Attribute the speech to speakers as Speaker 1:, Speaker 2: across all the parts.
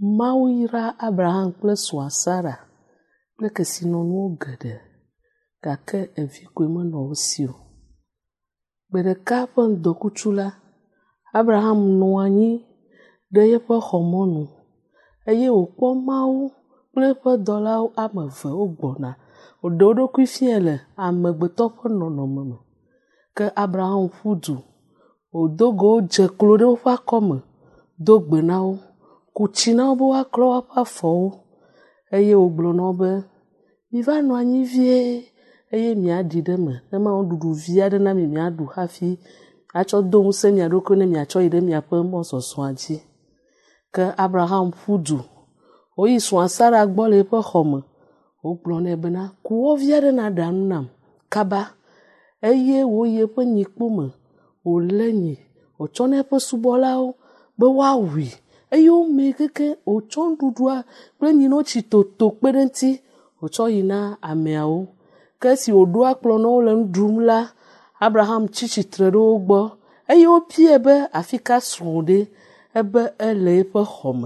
Speaker 1: Mawu yra Abraham kple srɔ̃a Sara kple kesinɔnuwo geɖe gake evi koe menɔ wo si o. Gbe ɖeka ƒe ŋdɔkutsu la, Abraham nɔ anyi ɖe yeƒe xɔmɔnu eye wòkpɔ Mawu kple eƒe dɔlawo ame eve wogbɔna. Wòɖe wo ɖokui fia le amegbetɔ ƒe nɔnɔme me. Ke Abraham ƒu du, wòdo go dze klo ɖe woƒe akɔme, do gbe na wo, ku tsi na wo be woaklɔ woƒe afɔwo eye wògblɔ na wo be, miva nɔ anyi vie eye miaɖi ɖe me, ne nuɖuɖu vi aɖe na mi miaɖu hafi atsɔ do ŋusẽ mia ɖokui ne miatsɔ yi ɖe miaƒe mɔzɔzɔa dzi. Ke Abraham ƒu du, wòyi srɔ̃a Sara gbɔ le eƒe xɔme, wògblɔ nɛ bena, ku wɔvi aɖe na ɖa nu nam kaba eye wòyi eƒe nyikpo me, wòlé nyi, wòtsɔ na eƒe subɔlawo be woawui eye womee keke wòtsɔ nuɖuɖua kple nyinotsi toto kpe ɖe ŋuti wòtsɔ yi na ameawo. Ke esi wòɖo akplɔ na wo le nu ɖum la, Abraham tsi tsitre ɖe wo gbɔ eye wopie be afi ka srɔ̃ ɖe ebe ele eƒe xɔme.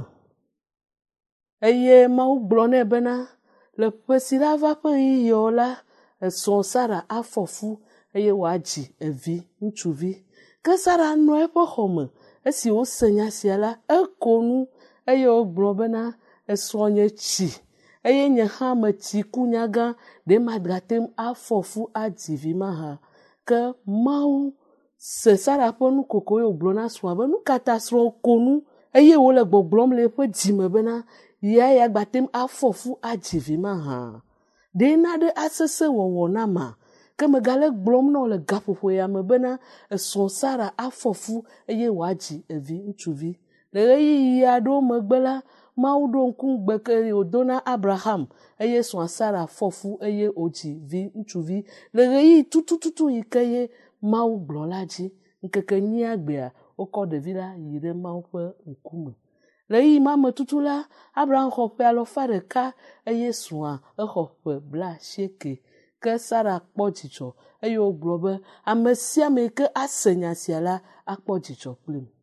Speaker 1: Eye Mawu gblɔ nɛ bena, le ƒe si la va ƒe ɣeyiɣiwo la, esrɔ̃ Sara afɔ fu eye wòadzi evi ŋutsuvi. Ke Sara nɔ eƒe xɔme, esi wose nya sia la, eko nu eye wògblɔ bena, esrɔ̃ nye tsi eye nye hã metsi ku nyagã, ɖe magate ŋu afɔ fu adzi vi mahã. Ke Mawu se Sara ƒe nukoko ye wògblɔ na srɔ̃a be nu ka ta srɔ̃ ko nu eye wòle gbɔgblɔm le eƒe dzime bena ya gbate ŋu afɔ fu adzi vi mahã. Ɖe naɖe asese wɔwɔ na ma, ke megale gblɔm na wò le gaƒoƒo ya me bena esrɔ̃ Sara afɔ fu eye wòadzi evi ŋutsuvi. Le ɣeyiɣi aɖewo megbe la, Mawu ɖo ŋku ŋugbe ke wòdo na Abraham eye srɔ̃a Sara fɔ fu eye wòdzi vi ŋutsuvi le ɣeyiɣi tutututu yi ke ye Mawu gblɔ la dzi. Ŋkeke 8 gbea, wokɔ ɖevi la yi ɖe Mawu ƒe ŋkume. Le ɣeyiɣi ma me tutu la, Abraham xɔ ƒe 100 eye srɔ̃a exɔ ƒe 90. Ke Sara kpɔ dzidzɔ eye wògblɔ be, ame sia ame ke ase nya sia la akpɔ dzidzɔ kplim.